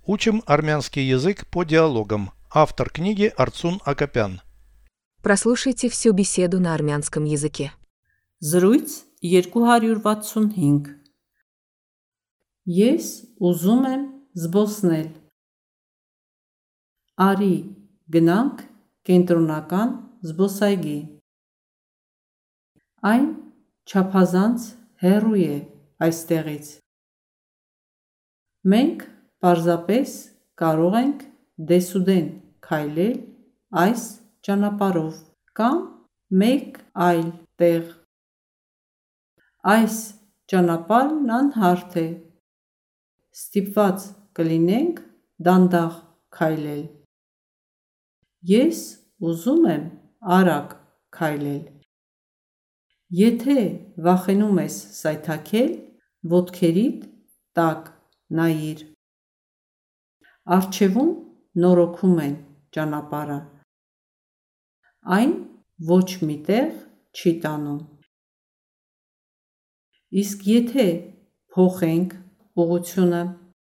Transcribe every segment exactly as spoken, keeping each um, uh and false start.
Учим армянский язык по диалогам. Автор книги Арцун Акопян. Прослушайте всю беседу на армянском языке. Զրույց երկու հարյուր վաթսունհինգ Ես ուզում եմ զբոսնել։ Արի, գնանք կենտրոնական զբոսայգի։ Այն չափազանց հեռու է այստեղից։ Մենք պարզապես կարող ենք դեսուդեն քայլել այս ճանապարհով կամ մեկ այլ տեղ։ Այս ճանապարհն անհարթ է։ Ստիպված կլինենք դանդաղ քայլել։ Ես ուզում եմ արագ քայլել։ Եթե վախենում ես սայթաքել, ոտքերիդ տակ նայիր։ Առջևում նորոգում են ճանապարհը։ Այն ոչ մի տեղ չի տանում։ Իսկ եթե փոխենք ուղղությունը։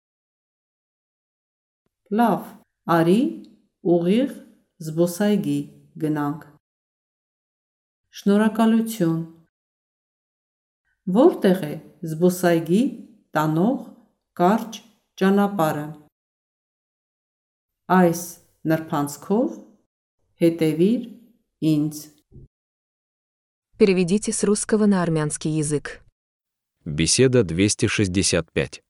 Լավ, արի ուղիղ զբոսայգի գնանք։ Շնորհակալություն։ Որտեղ է զբոսայգի տանող կարճ ճանապարհը։ Այս նրբանցքով հետևիր ինձ։ Переведите с русского на армянский язык. Беседа двести шестьдесят пять.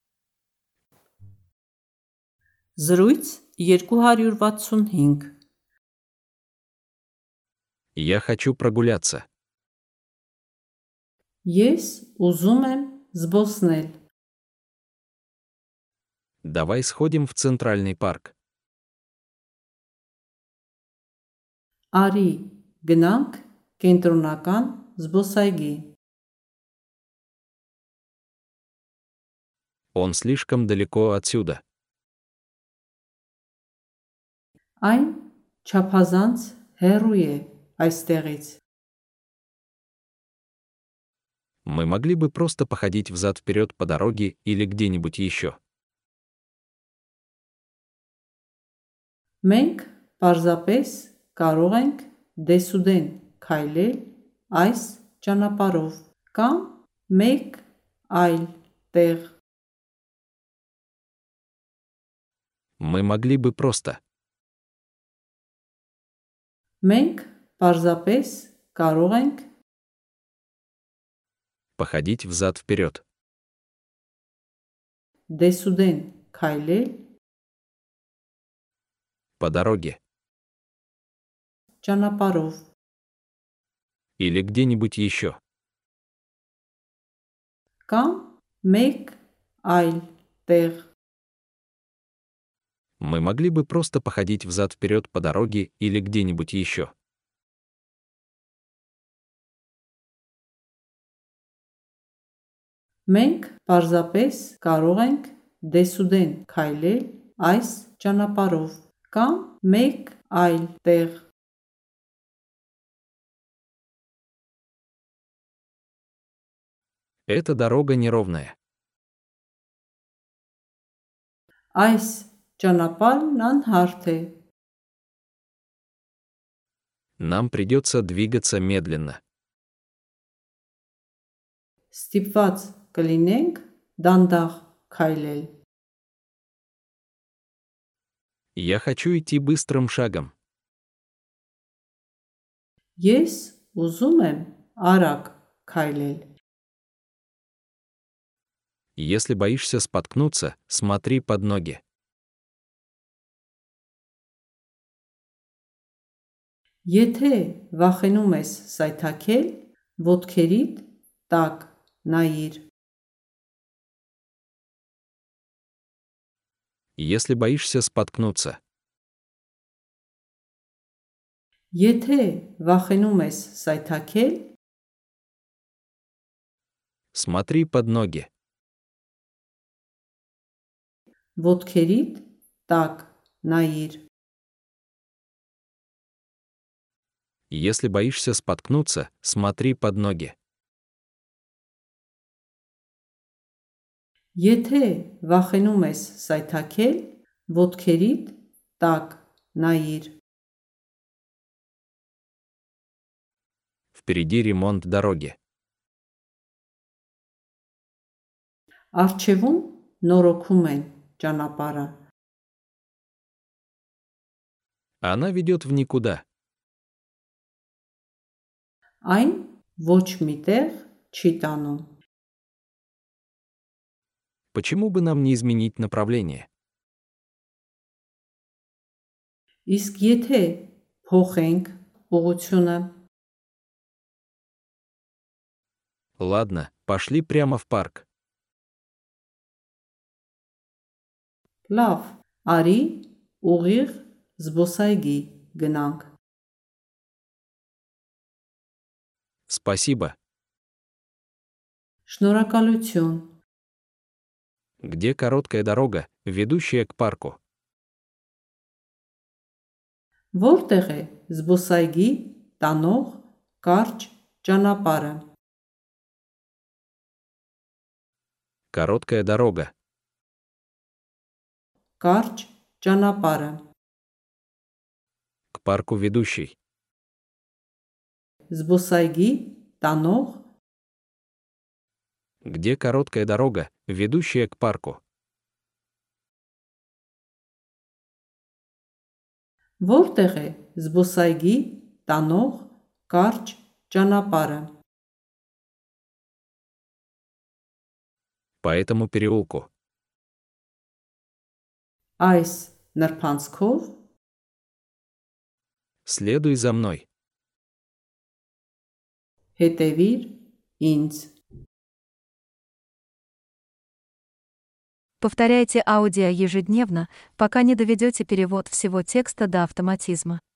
Զրույց երկու հարյուր վաթսունհինգ Я хочу прогуляться. Ես ուզում եմ զբոսնել։ Давай сходим в Центральный парк. Արի գնանք կենտրոնական զբոսայգի։ Он слишком далеко отсюда. Այն չափազանց հեռու է այստեղից։ Мы могли бы просто походить взад-вперед по дороге или где-нибудь еще. Մենք պարզապես կարող ենք դեսուդեն քայլել այս ճանապարհով կամ մեկ այլ տեղ։ Мы могли бы просто. Մենք պարզապես կարող ենք Походить взад-вперед. դեսուդեն քայլել По дороге. ճանապարհով։ Или где-нибудь еще. Կամ մեկ այլ տեղ։ Мы могли бы просто походить взад-вперед по дороге или где-нибудь еще. Մենք պարզապես կարող ենք դեսուդեն քայլել այս ճանապարհով կամ մեկ այլ տեղ։ Эта дорога неровная. Այս ճանապարհն անհարթ է։ Нам придется двигаться медленно. Ստիպված կլինենք դանդաղ քայլել։ Я хочу идти быстрым шагом. Ես ուզում եմ արագ քայլել։ Если боишься споткнуться, смотри под ноги. Եթե վախենում ես սայթաքել, ոտքերիդ տակ նայիր։ Если боишься споткнуться, Եթե վախենում ես սայթաքել, смотри под ноги. ոտքերիդ տակ նայիր։ Если боишься споткнуться, смотри под ноги. Եթե վախենում ես սայթաքել, Ոտքերիդ տակ նայիր. Впереди ремонт дороги. Առջևում նորոգում են ճանապարհը. Она ведет в никуда. Այն ոչ մի տեղ չի տանում. Почему бы нам не изменить направление? Իսկ եթե փոխենք ուղղությունը, Ладно, пошли прямо в парк. լավ, արի ուղիղ զբոսայգի գնանք. Спасибо. Շնորհակալություն. Где короткая дорога, ведущая к парку? Որտեղ է զբոսայգի տանող կարճ ճանապարհը? Короткая дорога. Կարճ ճանապարհը. К парку ведущий. Զբոսայգի տանող Где короткая дорога, ведущая к парку? Որտեղ է զբոսայգի տանող կարճ ճանապարհը? По этому переулку. Այս նրբանցքով Следуй за мной. հետևիր ինձ. Повторяйте аудио ежедневно, пока не доведете перевод всего текста до автоматизма.